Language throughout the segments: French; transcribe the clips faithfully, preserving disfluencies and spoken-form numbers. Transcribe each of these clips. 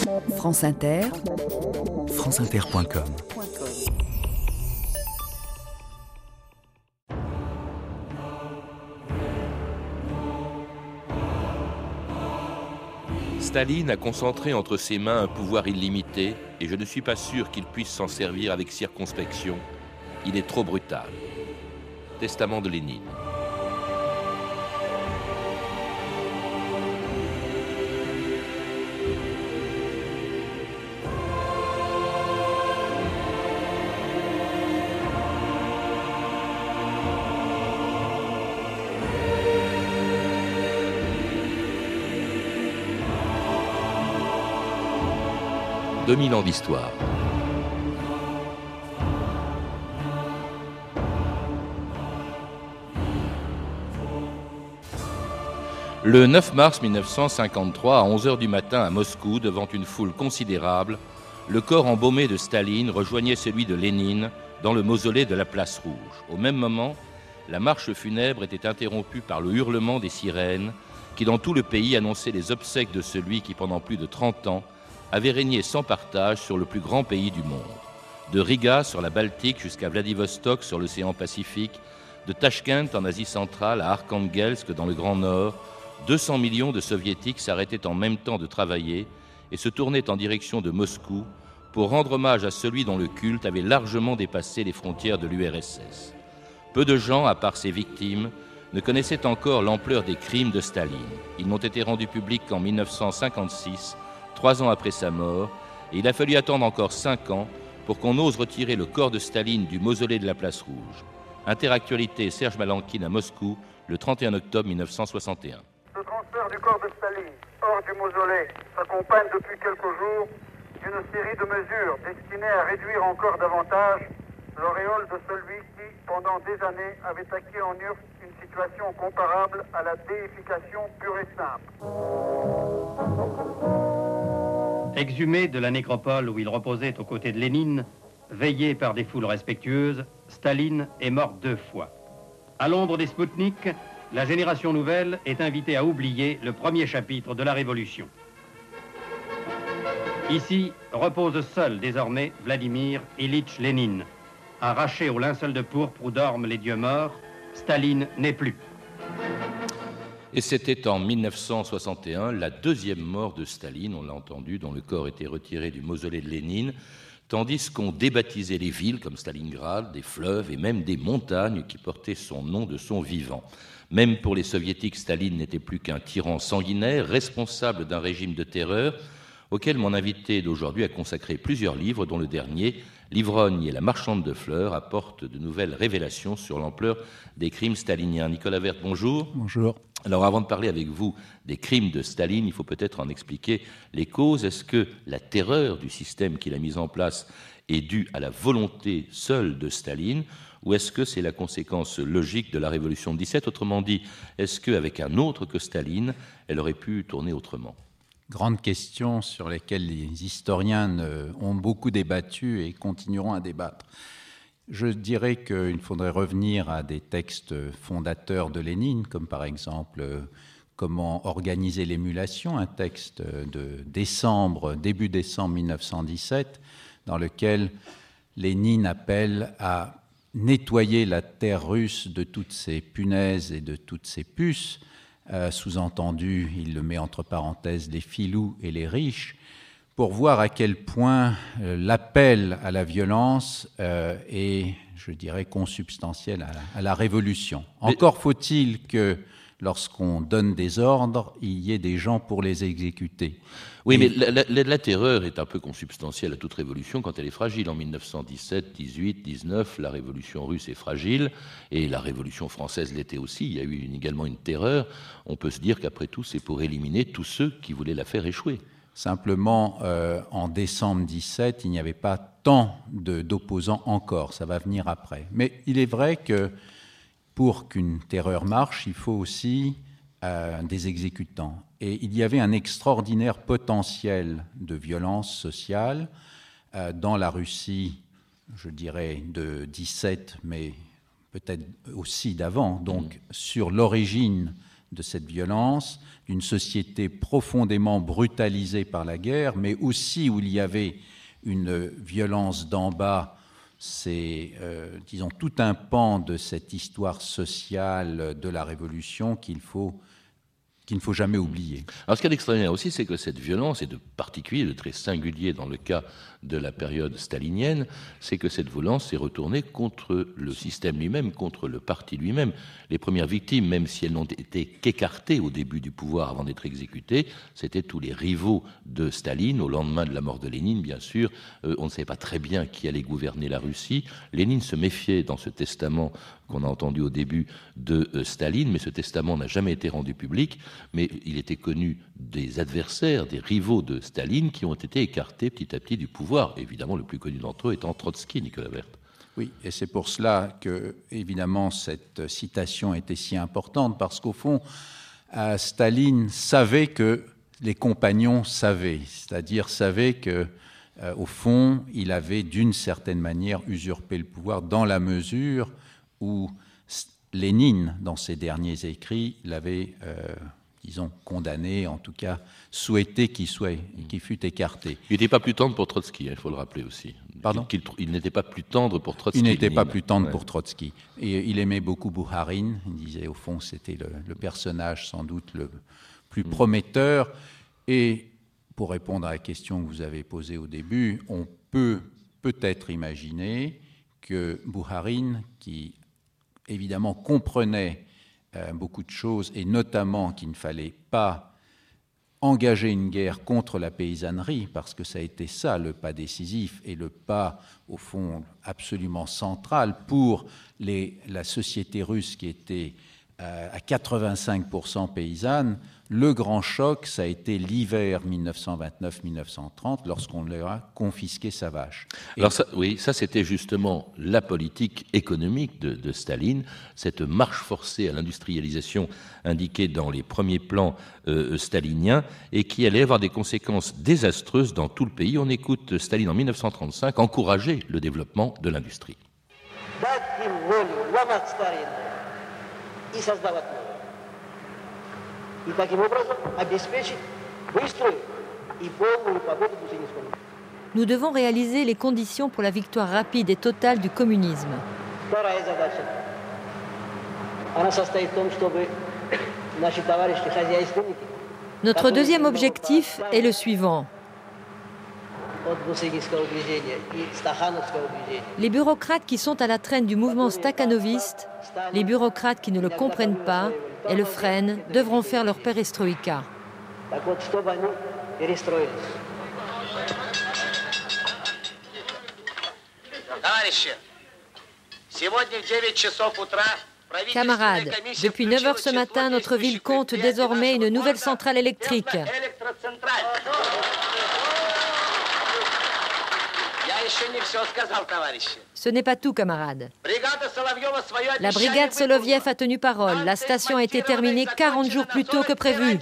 France Inter, france inter point com. Staline a concentré entre ses mains un pouvoir illimité et je ne suis pas sûr qu'il puisse s'en servir avec circonspection. Il est trop brutal. Testament de Lénine. deux mille ans d'histoire. Le neuf mars mille neuf cent cinquante-trois, à onze heures du matin à Moscou, devant une foule considérable, le corps embaumé de Staline rejoignait celui de Lénine dans le mausolée de la Place Rouge. Au même moment, la marche funèbre était interrompue par le hurlement des sirènes qui, dans tout le pays, annonçaient les obsèques de celui qui, pendant plus de trente ans, avait régné sans partage sur le plus grand pays du monde. De Riga sur la Baltique jusqu'à Vladivostok sur l'océan Pacifique, de Tachkent en Asie centrale à Arkhangelsk dans le Grand Nord, deux cents millions de soviétiques s'arrêtaient en même temps de travailler et se tournaient en direction de Moscou pour rendre hommage à celui dont le culte avait largement dépassé les frontières de l'U R S S. Peu de gens, à part ses victimes, ne connaissaient encore l'ampleur des crimes de Staline. Ils n'ont été rendus publics qu'en mille neuf cent cinquante-six, trois ans après sa mort, et il a fallu attendre encore cinq ans pour qu'on ose retirer le corps de Staline du mausolée de la Place Rouge. Interactualité, Serge Malankin à Moscou, le trente et un octobre mille neuf cent soixante et un. Ce transfert du corps de Staline hors du mausolée s'accompagne depuis quelques jours d'une série de mesures destinées à réduire encore davantage l'auréole de celui qui, pendant des années, avait acquis en U R S S une situation comparable à la déification pure et simple. Exhumé de la nécropole où il reposait aux côtés de Lénine, veillé par des foules respectueuses, Staline est mort deux fois. À l'ombre des Spoutniks, la génération nouvelle est invitée à oublier le premier chapitre de la Révolution. Ici repose seul désormais Vladimir Ilitch Lénine. Arraché au linceul de pourpre où dorment les dieux morts, Staline n'est plus. Et c'était en mille neuf cent soixante et un la deuxième mort de Staline, on l'a entendu, dont le corps était retiré du mausolée de Lénine, tandis qu'on débaptisait les villes comme Stalingrad, des fleuves et même des montagnes qui portaient son nom de son vivant. Même pour les soviétiques, Staline n'était plus qu'un tyran sanguinaire, responsable d'un régime de terreur, auquel mon invité d'aujourd'hui a consacré plusieurs livres, dont le dernier, L'ivrogne et la marchande de fleurs, apporte de nouvelles révélations sur l'ampleur des crimes staliniens. Nicolas Werth, bonjour. Bonjour. Alors avant de parler avec vous des crimes de Staline, il faut peut-être en expliquer les causes. Est-ce que la terreur du système qu'il a mis en place est due à la volonté seule de Staline, ou est-ce que c'est la conséquence logique de la Révolution de dix-sept? Autrement dit, est-ce qu'avec un autre que Staline, elle aurait pu tourner autrement? Grande question sur lesquelles les historiens ont beaucoup débattu et continueront à débattre. Je dirais qu'il faudrait revenir à des textes fondateurs de Lénine, comme par exemple « Comment organiser l'émulation », un texte de décembre, début décembre mille neuf cent dix-sept, dans lequel Lénine appelle à nettoyer la terre russe de toutes ses punaises et de toutes ses puces. Euh, sous-entendu, il le met entre parenthèses, les filous et les riches, pour voir à quel point euh, l'appel à la violence euh, est, je dirais, consubstantiel à la, à la révolution. Encore Mais... faut-il que, lorsqu'on donne des ordres, il y ait des gens pour les exécuter. Oui, et... mais la, la, la terreur est un peu consubstantielle à toute révolution quand elle est fragile. En mille neuf cent dix-sept, dix-huit, dix-neuf, la révolution russe est fragile, et la révolution française l'était aussi. Il y a eu une, également une terreur. On peut se dire qu'après tout, c'est pour éliminer tous ceux qui voulaient la faire échouer. Simplement, euh, en décembre dix-sept, il n'y avait pas tant de, d'opposants encore. Ça va venir après. Mais il est vrai que pour qu'une terreur marche, il faut aussi euh, des exécutants. Et il y avait un extraordinaire potentiel de violence sociale euh, dans la Russie, je dirais, de dix-sept, mais peut-être aussi d'avant, donc mmh. sur l'origine de cette violence, d'une société profondément brutalisée par la guerre, mais aussi où il y avait une violence d'en bas. C'est, euh, disons, tout un pan de cette histoire sociale de la Révolution qu'il faut, qu'il ne faut jamais oublier. Alors, ce qui est extraordinaire aussi, c'est que cette violence, et de particulier, de très singulier dans le cas de la période stalinienne, c'est que cette violence s'est retournée contre le système lui-même, contre le parti lui-même. Les premières victimes, même si elles n'ont été qu'écartées au début du pouvoir avant d'être exécutées, c'était tous les rivaux de Staline. Au lendemain de la mort de Lénine, bien sûr, euh, on ne savait pas très bien qui allait gouverner la Russie. Lénine se méfiait dans ce testament qu'on a entendu au début de euh, Staline, mais ce testament n'a jamais été rendu public, mais il était connu des adversaires, des rivaux de Staline qui ont été écartés petit à petit du pouvoir. Évidemment, le plus connu d'entre eux étant Trotsky, Nicolas Werth. Oui, et c'est pour cela que, évidemment, cette citation était si importante, parce qu'au fond, euh, Staline savait que les compagnons savaient, c'est-à-dire savaient que, euh, au fond, il avait d'une certaine manière usurpé le pouvoir dans la mesure où Lénine, dans ses derniers écrits, l'avait, euh, disons, condamné, en tout cas souhaité qu'il soit, qu'il fût écarté. Il n'était pas plus tendre pour Trotsky, il faut le rappeler aussi. Pardon ? Il, il, il n'était pas plus tendre pour Trotsky. Il n'était Lénine. pas plus tendre ouais. pour Trotsky. Et il aimait beaucoup Bouharine. Il disait, au fond, c'était le, le personnage sans doute le plus prometteur. Et pour répondre à la question que vous avez posée au début, on peut peut-être imaginer que Bouharine, qui évidemment comprenait euh, beaucoup de choses, et notamment qu'il ne fallait pas engager une guerre contre la paysannerie, parce que ça a été ça le pas décisif et le pas, au fond, absolument central pour les, la société russe qui était euh, à quatre-vingt-cinq pour cent paysanne. Le grand choc, ça a été l'hiver mille neuf cent vingt-neuf mille neuf cent trente, lorsqu'on leur a confisqué sa vache. Et Alors ça, oui, ça c'était justement la politique économique de, de Staline, cette marche forcée à l'industrialisation indiquée dans les premiers plans euh, staliniens et qui allait avoir des conséquences désastreuses dans tout le pays. On écoute Staline en mille neuf cent trente-cinq encourager le développement de l'industrie. И таким образом обеспечить быструю и полную победу Бусинского. Nous devons réaliser les conditions pour la victoire rapide et totale du communisme. Вторая задача. Она состоит в том, чтобы наши товарищи хозяйственники. Notre deuxième objectif est le suivant. Les bureaucrates qui sont à la traîne du mouvement stakhanoviste, les bureaucrates qui ne le comprennent pas et le freinent, devront faire leur perestroïka. Camarades, depuis neuf heures ce matin, notre ville compte désormais une nouvelle centrale électrique. Ce n'est pas tout, camarades. La brigade Soloviev a tenu parole. La station a été terminée quarante jours plus tôt que prévu.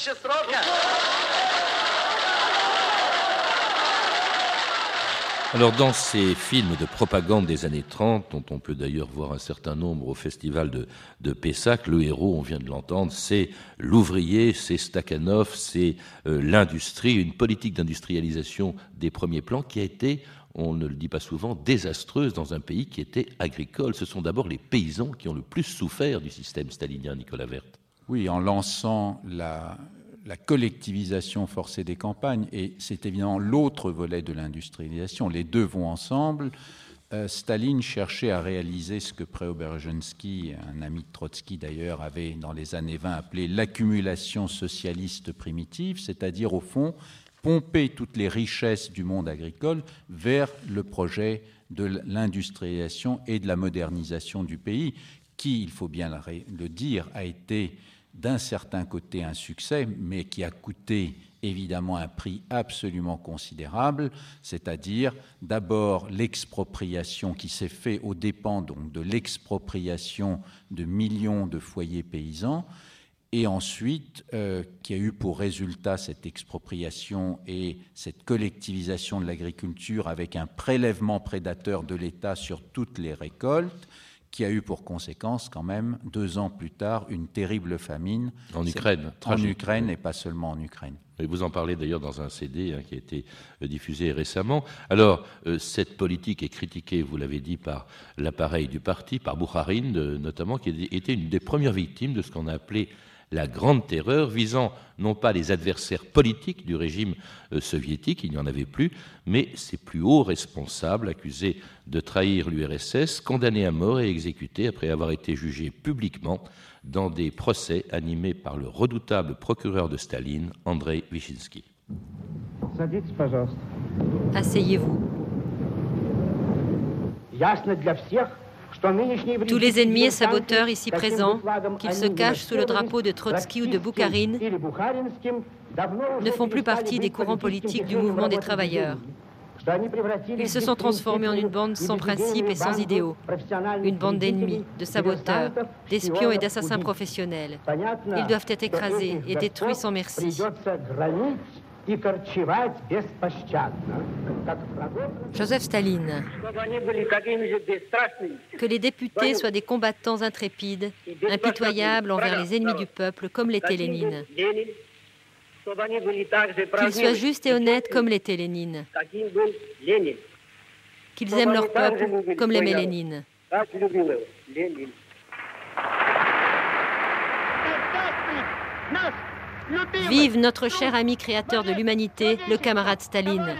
Alors, dans ces films de propagande des années trente, dont on peut d'ailleurs voir un certain nombre au festival de, de Pessac, le héros, on vient de l'entendre, c'est l'ouvrier, c'est Stakhanov, c'est euh, l'industrie, une politique d'industrialisation des premiers plans qui a été, on ne le dit pas souvent, désastreuse dans un pays qui était agricole. Ce sont d'abord les paysans qui ont le plus souffert du système stalinien, Nicolas Werth. Oui, en lançant la... la collectivisation forcée des campagnes, et c'est évidemment l'autre volet de l'industrialisation. Les deux vont ensemble. Euh, Staline cherchait à réaliser ce que Preobrajensky, un ami de Trotsky d'ailleurs, avait dans les années vingt appelé l'accumulation socialiste primitive, c'est-à-dire au fond pomper toutes les richesses du monde agricole vers le projet de l'industrialisation et de la modernisation du pays, qui, il faut bien le dire, a été d'un certain côté un succès, mais qui a coûté évidemment un prix absolument considérable, c'est-à-dire d'abord l'expropriation qui s'est faite aux dépens donc de l'expropriation de millions de foyers paysans, et ensuite euh, qui a eu pour résultat cette expropriation et cette collectivisation de l'agriculture avec un prélèvement prédateur de l'État sur toutes les récoltes, qui a eu pour conséquence quand même, deux ans plus tard, une terrible famine. En Ukraine, En Ukraine et pas seulement en Ukraine. Et vous en parlez d'ailleurs dans un C D hein, qui a été diffusé récemment. Alors, euh, cette politique est critiquée, vous l'avez dit, par l'appareil du parti, par Boukharine de, notamment, qui était une des premières victimes de ce qu'on a appelé la Grande Terreur, visant non pas les adversaires politiques du régime euh, soviétique, il n'y en avait plus, mais ses plus hauts responsables, accusés de trahir l'U R S S, condamnés à mort et exécutés après avoir été jugés publiquement dans des procès animés par le redoutable procureur de Staline, Andrei Vyshinsky. Asseyez-vous. Tous les ennemis et saboteurs ici présents, qu'ils se cachent sous le drapeau de Trotsky ou de Boukharine, ne font plus partie des courants politiques du mouvement des travailleurs. Ils se sont transformés en une bande sans principes et sans idéaux, une bande d'ennemis, de saboteurs, d'espions et d'assassins professionnels. Ils doivent être écrasés et détruits sans merci. Joseph Staline. Que les députés soient des combattants intrépides, impitoyables envers les ennemis du peuple, comme l'était Lénine. Qu'ils soient justes et honnêtes, comme l'était Lénine. Qu'ils aiment leur peuple, comme l'aimait Lénine. Vive notre cher ami créateur de l'humanité, le camarade Staline.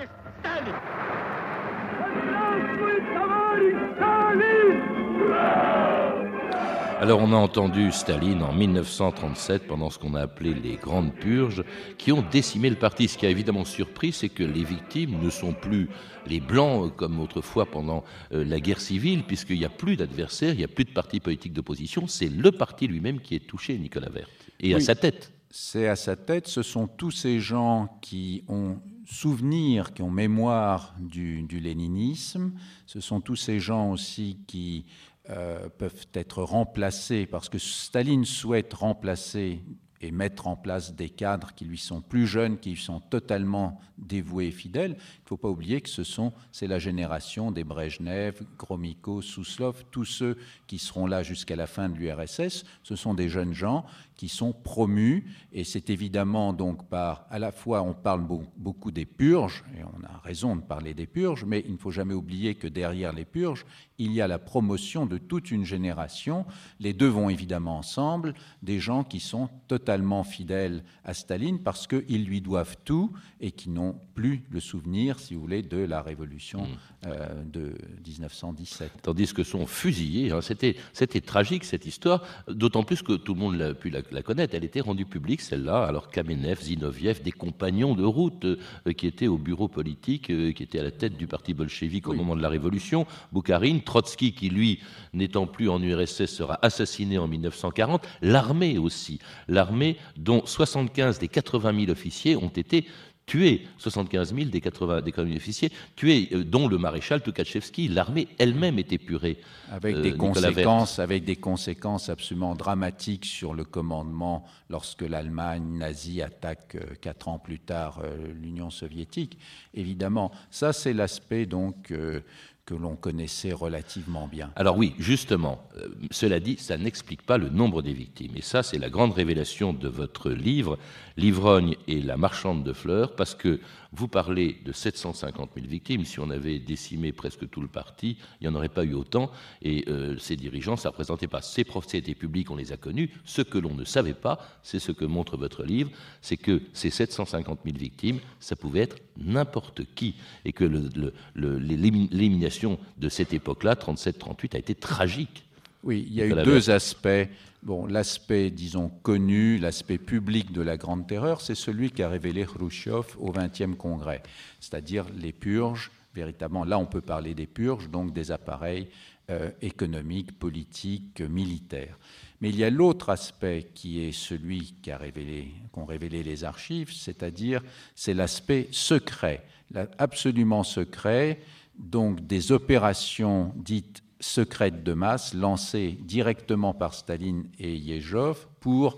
Alors on a entendu Staline en mille neuf cent trente-sept pendant ce qu'on a appelé les Grandes Purges qui ont décimé le parti. Ce qui a évidemment surpris, c'est que les victimes ne sont plus les Blancs comme autrefois pendant euh, la guerre civile, puisqu'il n'y a plus d'adversaires, il n'y a plus de parti politique d'opposition. C'est le parti lui-même qui est touché, Nicolas Werth, et oui, à sa tête. C'est à sa tête. Ce sont tous ces gens qui ont souvenir, qui ont mémoire du, du léninisme. Ce sont tous ces gens aussi qui Euh, peuvent être remplacés, parce que Staline souhaite remplacer et mettre en place des cadres qui lui sont plus jeunes, qui lui sont totalement dévoués et fidèles. Il ne faut pas oublier que ce sont, c'est la génération des Brejnev, Gromyko, Souslov, tous ceux qui seront là jusqu'à la fin de l'U R S S. Ce sont des jeunes gens qui sont promus, et c'est évidemment donc par, à la fois on parle beaucoup des purges, et on a raison de parler des purges, mais il ne faut jamais oublier que derrière les purges, il y a la promotion de toute une génération. Les deux vont évidemment ensemble, des gens qui sont totalement fidèles à Staline parce qu'ils lui doivent tout et qui n'ont plus le souvenir, si vous voulez, de la révolution mmh. euh, de dix-neuf cent dix-sept. Tandis que sont fusillés, hein, c'était, c'était tragique cette histoire, d'autant plus que tout le monde l'a pu la, la connaître, elle était rendue publique celle-là, alors Kamenev, Zinoviev, des compagnons de route euh, qui étaient au bureau politique, euh, qui étaient à la tête du parti bolchevique au oui. moment de la révolution, Boukharine, Trotsky qui lui, n'étant plus en U R S S, sera assassiné en mille neuf cent quarante, l'armée aussi, l'armée dont soixante-quinze des quatre-vingt mille officiers ont été tués, soixante-quinze mille des quatre-vingts mille officiers tués, euh, dont le maréchal Tukhachevski. L'armée elle-même est épurée. Avec, euh, des conséquences, avec des conséquences absolument dramatiques sur le commandement lorsque l'Allemagne nazie attaque euh, quatre ans plus tard euh, l'Union soviétique. Évidemment, ça c'est l'aspect donc euh, que l'on connaissait relativement bien. Alors oui, justement, euh, cela dit, ça n'explique pas le nombre des victimes. Et ça, c'est la grande révélation de votre livre, L'ivrogne et la marchande de fleurs, parce que vous parlez de sept cent cinquante mille victimes. Si on avait décimé presque tout le parti, il n'y en aurait pas eu autant. Et euh, ces dirigeants, ça ne représentait pas. Ces procès étaient publics, on les a connus. Ce que l'on ne savait pas, c'est ce que montre votre livre, c'est que ces sept cent cinquante mille victimes, ça pouvait être n'importe qui. Et que le, le, le, l'élimination de cette époque-là, trente-sept trente-huit, a été tragique. Oui, il y a eu deux aspects. Bon, l'aspect, disons, connu, l'aspect public de la Grande Terreur, c'est celui qu'a révélé Khrouchtchev au vingtième congrès, c'est-à-dire les purges, véritablement. Là, on peut parler des purges, donc des appareils euh, économiques, politiques, militaires. Mais il y a l'autre aspect qui est celui qu'a révélé, qu'ont révélé les archives, c'est-à-dire c'est l'aspect secret, absolument secret, donc des opérations dites secrètes de masse lancées directement par Staline et Yezhov pour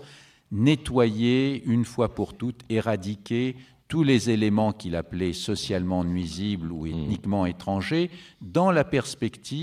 nettoyer une fois pour toutes, éradiquer tous les éléments qu'il appelait socialement nuisibles ou ethniquement étrangers, dans la perspective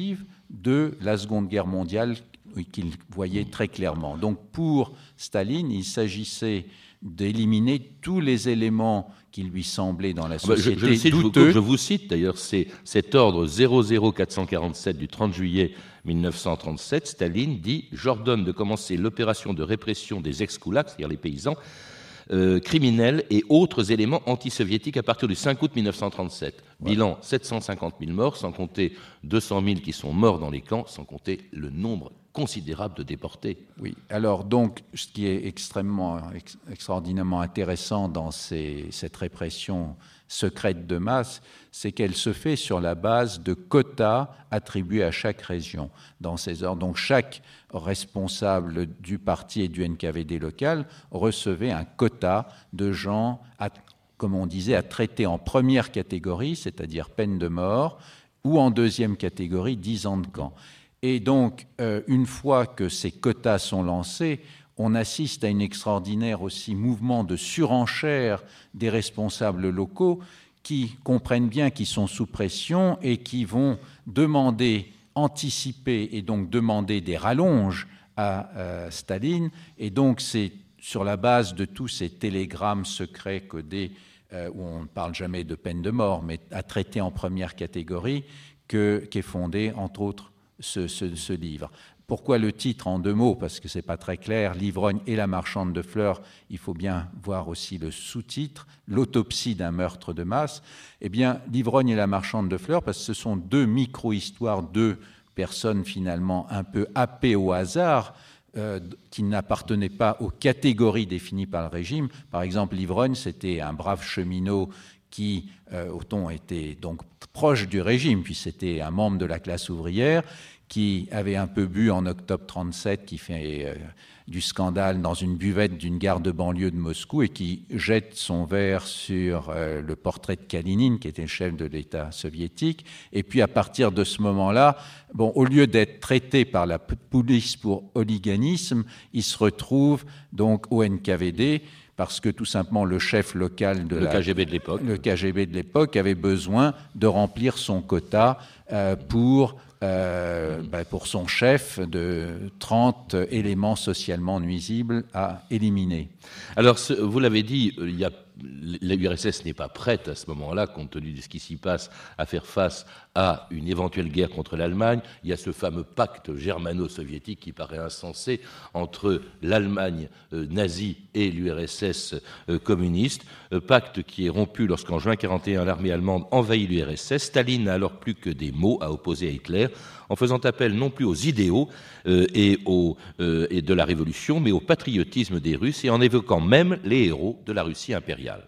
de la Seconde Guerre mondiale qu'il voyait très clairement. Donc pour Staline, il s'agissait d'éliminer tous les éléments qui lui semblaient dans la société je, je cite, douteux. Je, je vous cite d'ailleurs, c'est cet ordre zéro zéro quatre cent quarante-sept du trente juillet mille neuf cent trente-sept, Staline dit « J'ordonne de commencer l'opération de répression des ex-koulaks, c'est-à-dire les paysans, Euh, criminels et autres éléments antisoviétiques à partir du cinq août mille neuf cent trente-sept. Ouais. Bilan sept cent cinquante mille morts, sans compter deux cent mille qui sont morts dans les camps, sans compter le nombre considérable de déportés. Oui, alors donc, ce qui est extrêmement, ex, extraordinairement intéressant dans ces, cette répression secrète de masse, c'est qu'elle se fait sur la base de quotas attribués à chaque région. Dans ces heures, donc chaque responsable du parti et du N K V D local recevait un quota de gens, à, comme on disait, à traiter en première catégorie, c'est-à-dire peine de mort, ou en deuxième catégorie, dix ans de camp. Et donc, euh, une fois que ces quotas sont lancés, on assiste à un extraordinaire aussi mouvement de surenchère des responsables locaux qui comprennent bien qu'ils sont sous pression et qui vont demander, anticiper et donc demander des rallonges à euh, Staline. Et donc, c'est sur la base de tous ces télégrammes secrets codés, euh, où on ne parle jamais de peine de mort, mais à traiter en première catégorie, que, qu'est fondé, entre autres, Ce, ce, ce livre. Pourquoi le titre en deux mots? Parce que ce n'est pas très clair. L'ivrogne et la marchande de fleurs, il faut bien voir aussi le sous-titre, l'autopsie d'un meurtre de masse. Eh bien, l'ivrogne et la marchande de fleurs, parce que ce sont deux micro-histoires, deux personnes finalement un peu happées au hasard, euh, qui n'appartenaient pas aux catégories définies par le régime. Par exemple, l'ivrogne, c'était un brave cheminot qui, euh, au ton, était donc proche du régime, puis c'était un membre de la classe ouvrière qui avait un peu bu en octobre trente-sept, qui fait euh, du scandale dans une buvette d'une gare de banlieue de Moscou et qui jette son verre sur euh, le portrait de Kalinine, qui était le chef de l'État soviétique. Et puis à partir de ce moment-là, bon, au lieu d'être traité par la police pour hooliganisme, il se retrouve donc au N K V D, parce que tout simplement le chef local de le la, K G B de l'époque, le K G B de l'époque avait besoin de remplir son quota euh, pour, euh, ben pour son chef de trente éléments socialement nuisibles à éliminer. Alors, ce, vous l'avez dit, il y a, l'U R S S n'est pas prête à ce moment-là, compte tenu de ce qui s'y passe, à faire face à une éventuelle guerre contre l'Allemagne. Il y a ce fameux pacte germano-soviétique qui paraît insensé entre l'Allemagne euh, nazie et l'U R S S euh, communiste, euh, pacte qui est rompu lorsqu'en juin mille neuf cent quarante et un, l'armée allemande envahit l'U R S S. Staline n'a alors plus que des mots à opposer à Hitler, en faisant appel non plus aux idéaux euh, et, aux, euh, et de la révolution, mais au patriotisme des Russes, et en évoquant même les héros de la Russie impériale.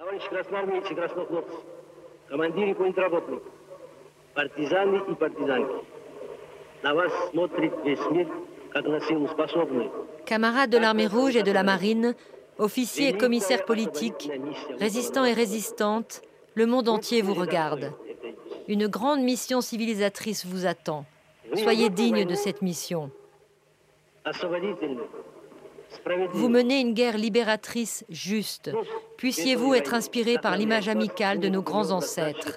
Camarades de l'armée rouge et de la marine, officiers et commissaires politiques, résistants et résistantes, le monde entier vous regarde. Une grande mission civilisatrice vous attend. Soyez dignes de cette mission. Vous menez une guerre libératrice juste. Puissiez-vous être inspirés par l'image amicale de nos grands ancêtres.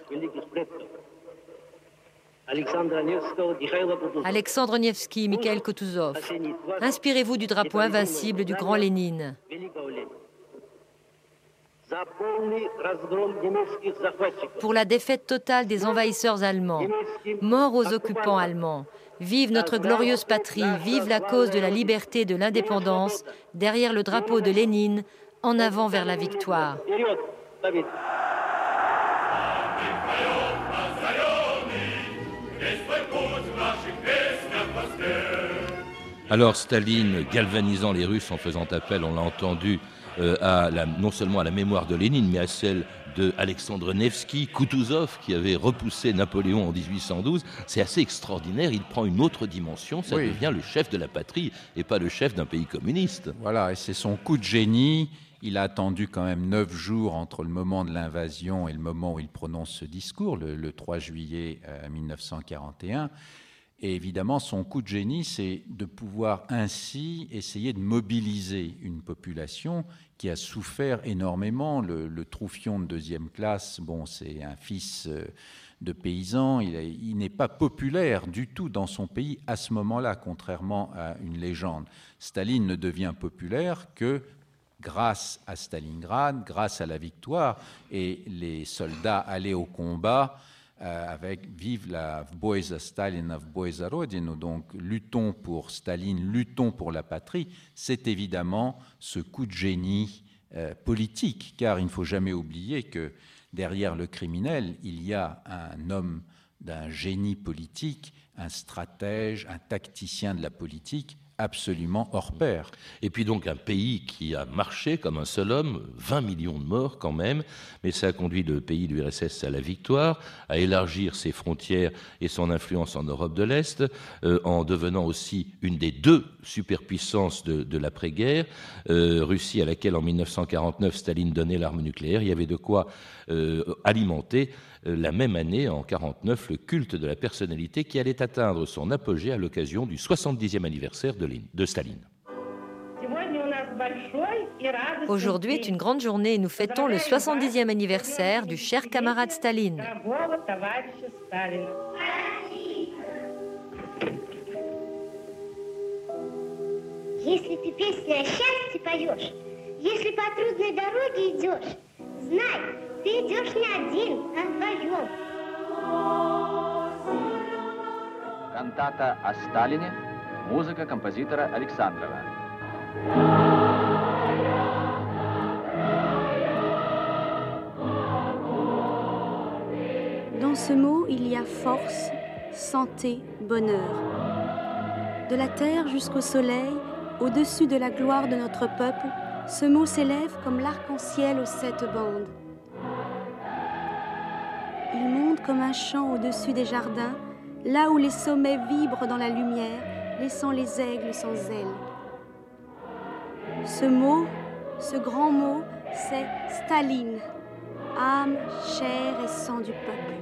Alexandre Nevsky, Mikhail Kutuzov. Inspirez-vous du drapeau invincible du grand Lénine. Pour la défaite totale des envahisseurs allemands, mort aux occupants allemands, vive notre glorieuse patrie, vive la cause de la liberté et de l'indépendance, derrière le drapeau de Lénine, en avant vers la victoire. Alors Staline, galvanisant les Russes en faisant appel, on l'a entendu, euh, à la, non seulement à la mémoire de Lénine, mais à celle de Alexandre Nevsky, Kutuzov, qui avait repoussé Napoléon en dix-huit cent douze, c'est assez extraordinaire, il prend une autre dimension, ça oui. devient le chef de la patrie et pas le chef d'un pays communiste. Voilà, et c'est son coup de génie. Il a attendu quand même neuf jours entre le moment de l'invasion et le moment où il prononce ce discours, le, le trois juillet euh, mille neuf cent quarante et un. Et évidemment, son coup de génie, c'est de pouvoir ainsi essayer de mobiliser une population qui a souffert énormément. Le, le Troufion de deuxième classe, bon, c'est un fils de paysan, il, a, il n'est pas populaire du tout dans son pays à ce moment-là, contrairement à une légende. Staline ne devient populaire que grâce à Stalingrad, grâce à la victoire, et les soldats allaient au combat euh, avec « Vive la boj za Stalina, boj za rodinu », donc luttons pour Staline, luttons pour la patrie, c'est évidemment ce coup de génie euh, politique, car il ne faut jamais oublier que derrière le criminel, il y a un homme d'un génie politique, un stratège, un tacticien de la politique, absolument hors pair. Et puis donc un pays qui a marché comme un seul homme, vingt millions de morts quand même, mais ça a conduit le pays de l'U R S S à la victoire, à élargir ses frontières et son influence en Europe de l'Est, euh, en devenant aussi une des deux superpuissances de, de l'après-guerre, euh, Russie à laquelle en mille neuf cent quarante-neuf Staline donnait l'arme nucléaire. Il y avait de quoi euh, alimenter euh, la même année, en quarante-neuf, le culte de la personnalité qui allait atteindre son apogée à l'occasion du soixante-dixième anniversaire de de Staline. Aujourd'hui est une grande journée et nous fêtons le soixante-dixième anniversaire du cher camarade Staline. Если ты песни о счастье поешь, если по трудной дороге идешь, знай, ты идешь не один, а вдвоем. Кантата о Сталине. Музыка композитора Александрова. Dans ce mot, il y a force, santé, bonheur. De la terre jusqu'au soleil, au-dessus de la gloire de notre peuple, ce mot s'élève comme l'arc-en-ciel aux sept bandes. Il monte comme un chant au-dessus des jardins, là où les sommets vibrent dans la lumière, laissant les aigles sans ailes. Ce mot, ce grand mot, c'est Staline, âme, chair et sang du peuple.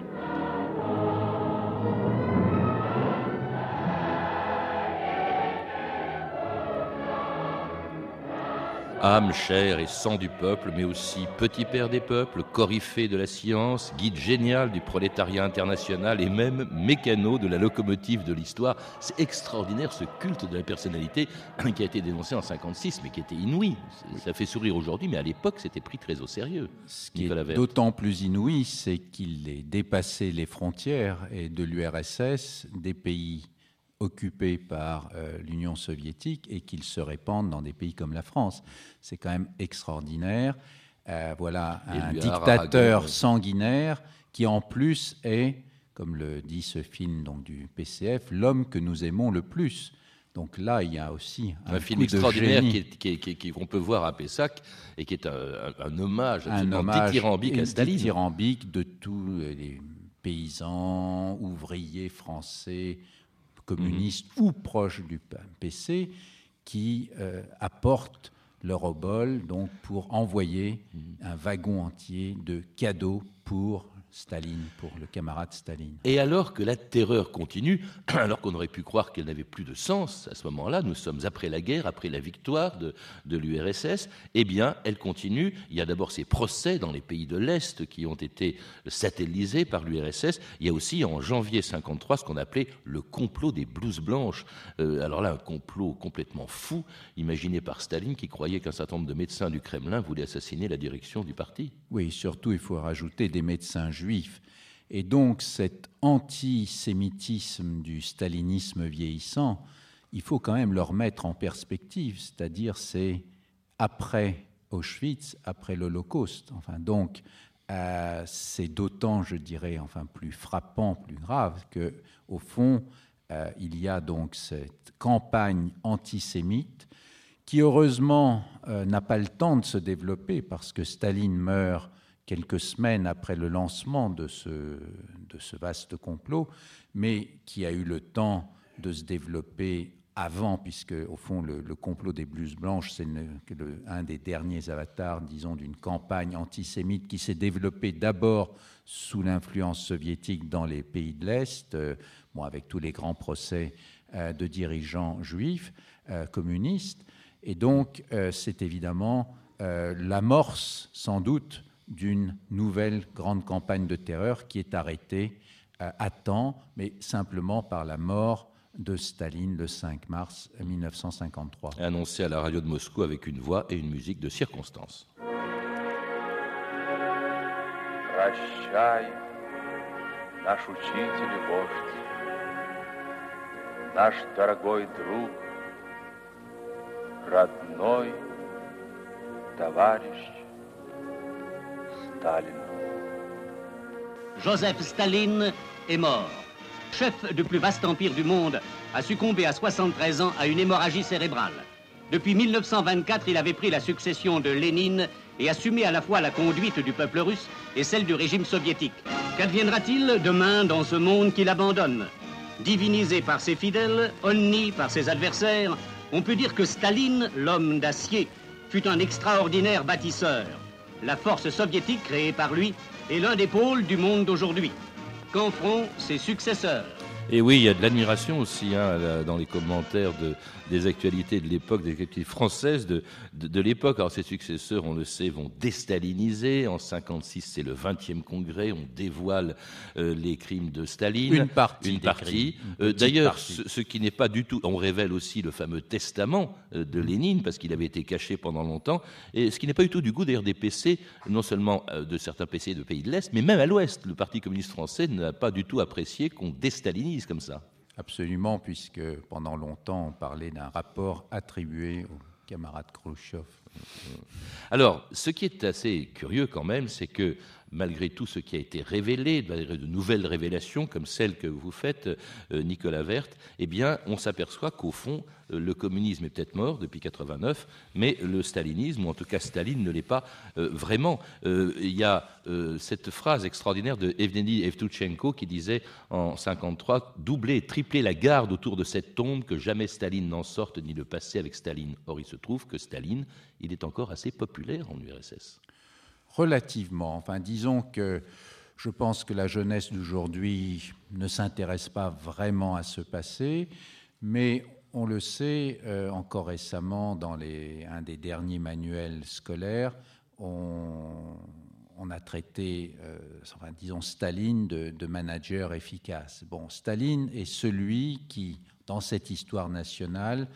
Âme, chair et sang du peuple, mais aussi petit père des peuples, coryphée de la science, guide génial du prolétariat international et même mécano de la locomotive de l'histoire. C'est extraordinaire ce culte de la personnalité qui a été dénoncé en cinquante-six, mais qui était inouï. Ça fait sourire aujourd'hui, mais à l'époque, c'était pris très au sérieux. Ce qui est d'autant plus inouï, c'est qu'il ait dépassé les frontières et de l'U R S S, des pays occupés par euh, l'Union soviétique et qu'il se répande dans des pays comme la France. C'est quand même extraordinaire. Euh, voilà un dictateur Aragon, sanguinaire qui en plus est, comme le dit ce film donc, du P C F, l'homme que nous aimons le plus. Donc là, il y a aussi un, un film extraordinaire qui est, qui est, qui est, qui, qu'on peut voir à Pessac et qui est un, un, un hommage absolument un hommage, dithyrambique à Staline. Dithyrambique de tous les paysans, ouvriers français, communistes mmh. ou proches du P C, qui euh, apportent leur obol donc, pour envoyer mmh. un wagon entier de cadeaux pour Staline, pour le camarade Staline. Et alors que la terreur continue, alors qu'on aurait pu croire qu'elle n'avait plus de sens à ce moment-là, nous sommes après la guerre, après la victoire de, de l'U R S S, eh bien, elle continue. Il y a d'abord ces procès dans les pays de l'Est qui ont été satellisés par l'U R S S. Il y a aussi, en janvier cinquante-trois, ce qu'on appelait le complot des blouses blanches. Euh, alors là, un complot complètement fou, imaginé par Staline, qui croyait qu'un certain nombre de médecins du Kremlin voulaient assassiner la direction du parti. Oui, surtout, il faut rajouter des médecins juifs. Et donc cet antisémitisme du stalinisme vieillissant, il faut quand même le remettre en perspective, c'est-à-dire c'est après Auschwitz, après l'Holocauste. Enfin, donc euh, c'est d'autant, je dirais, enfin plus frappant, plus grave que, au fond, euh, il y a donc cette campagne antisémite qui heureusement euh, n'a pas le temps de se développer parce que Staline meurt quelques semaines après le lancement de ce, de ce vaste complot, mais qui a eu le temps de se développer avant, puisque au fond le, le complot des blouses blanches, c'est le, le, un des derniers avatars, disons, d'une campagne antisémite qui s'est développée d'abord sous l'influence soviétique dans les pays de l'Est, euh, bon, avec tous les grands procès euh, de dirigeants juifs, euh, communistes. Et donc, euh, c'est évidemment euh, l'amorce, sans doute, d'une nouvelle grande campagne de terreur qui est arrêtée euh, à temps, mais simplement par la mort de Staline le cinq mars mille neuf cent cinquante-trois. Annoncé à la radio de Moscou avec une voix et une musique de circonstance. Прощай, наш учитель и вождь, наш дорогой друг, родной товарищ Staline. Joseph Staline est mort. Chef du plus vaste empire du monde, a succombé à soixante-treize ans à une hémorragie cérébrale. Depuis mille neuf cent vingt-quatre, il avait pris la succession de Lénine et assumé à la fois la conduite du peuple russe et celle du régime soviétique. Qu'adviendra-t-il demain dans ce monde qu'il abandonne? Divinisé par ses fidèles, honni par ses adversaires, on peut dire que Staline, l'homme d'acier, fut un extraordinaire bâtisseur. La force soviétique créée par lui est l'un des pôles du monde d'aujourd'hui. Qu'en feront ses successeurs? Et oui, il y a de l'admiration aussi hein, dans les commentaires de, des actualités de l'époque, des actualités françaises de, de, de l'époque. Alors ses successeurs, on le sait, vont déstaliniser. En cinquante-six, c'est le vingtième congrès, on dévoile euh, les crimes de Staline. Une partie. Une partie. Euh, d'ailleurs, ce, ce qui n'est pas du tout... On révèle aussi le fameux testament euh, de Lénine, parce qu'il avait été caché pendant longtemps, et ce qui n'est pas du tout du goût d'ailleurs des P C, non seulement euh, de certains P C de pays de l'Est, mais même à l'Ouest. Le Parti communiste français n'a pas du tout apprécié qu'on déstalinise comme ça. Absolument, puisque pendant longtemps, on parlait d'un rapport attribué au camarade Khrouchtchev. Alors, ce qui est assez curieux quand même, c'est que malgré tout ce qui a été révélé, de nouvelles révélations comme celles que vous faites, Nicolas Werth, eh bien, on s'aperçoit qu'au fond, le communisme est peut-être mort depuis quatre-vingt-neuf, mais le stalinisme, ou en tout cas Staline, ne l'est pas euh, vraiment. Euh, il y a euh, cette phrase extraordinaire de Evgeny Evtuchenko qui disait en cinquante-trois « Doubler et tripler la garde autour de cette tombe, que jamais Staline n'en sorte, ni le passé avec Staline. » Or, il se trouve que Staline, il est encore assez populaire en U R S S. Relativement. Enfin, disons que je pense que la jeunesse d'aujourd'hui ne s'intéresse pas vraiment à ce passé, mais on le sait, euh, encore récemment, dans les, un des derniers manuels scolaires, on, on a traité, euh, enfin, disons, Staline de, de manager efficace. Bon, Staline est celui qui, dans cette histoire nationale,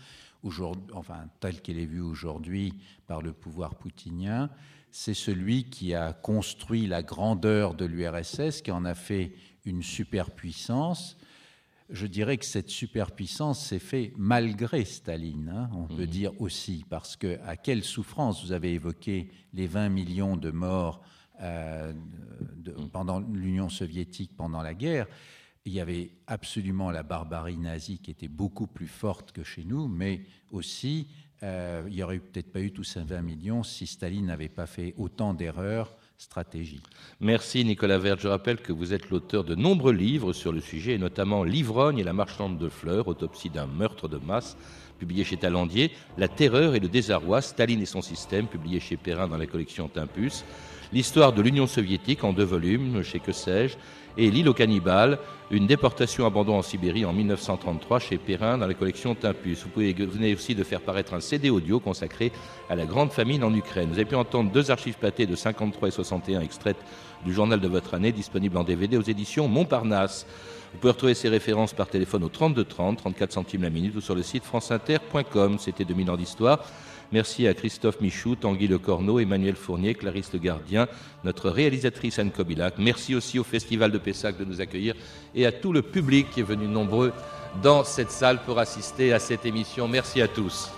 enfin, telle qu'elle est vue aujourd'hui par le pouvoir poutinien, c'est celui qui a construit la grandeur de l'U R S S, qui en a fait une superpuissance. Je dirais que cette superpuissance s'est faite malgré Staline, hein, on mmh. peut dire aussi, parce que à quelle souffrance, vous avez évoqué les vingt millions de morts euh, de, mmh. pendant l'Union soviétique pendant la guerre. Il y avait absolument la barbarie nazie qui était beaucoup plus forte que chez nous, mais aussi euh, il n'y aurait peut-être pas eu tous ces vingt millions si Staline n'avait pas fait autant d'erreurs stratégiques. Merci Nicolas Werth. Je rappelle que vous êtes l'auteur de nombreux livres sur le sujet, et notamment L'ivrogne et la marchande de fleurs, autopsie d'un meurtre de masse, publié chez Talandier, La terreur et le désarroi, Staline et son système, publié chez Perrin dans la collection Tempus, L'histoire de l'Union soviétique en deux volumes chez Que sais-je, et L'île aux cannibales, une déportation abandon en Sibérie en mille neuf cent trente-trois chez Perrin dans la collection Tempus. Vous pouvez vous venez aussi de faire paraître un C D audio consacré à la grande famine en Ukraine. Vous avez pu entendre deux archives pâtées de cinquante-trois et soixante et un extraites du journal de votre année, disponibles en D V D aux éditions Montparnasse. Vous pouvez retrouver ces références par téléphone au trente-deux trente, trente-quatre centimes la minute, ou sur le site franceinter point com. C'était deux mille ans d'histoire. Merci à Christophe Michou, Tanguy Le Corneau, Emmanuel Fournier, Clarisse Le Gardien, notre réalisatrice Anne Kobilac. Merci aussi au Festival de Pessac de nous accueillir et à tout le public qui est venu nombreux dans cette salle pour assister à cette émission. Merci à tous.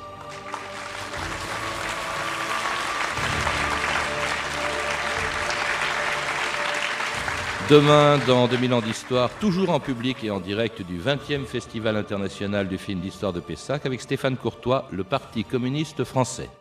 Demain, dans deux mille ans d'histoire, toujours en public et en direct du vingtième Festival international du film d'histoire de Pessac, avec Stéphane Courtois, le Parti communiste français.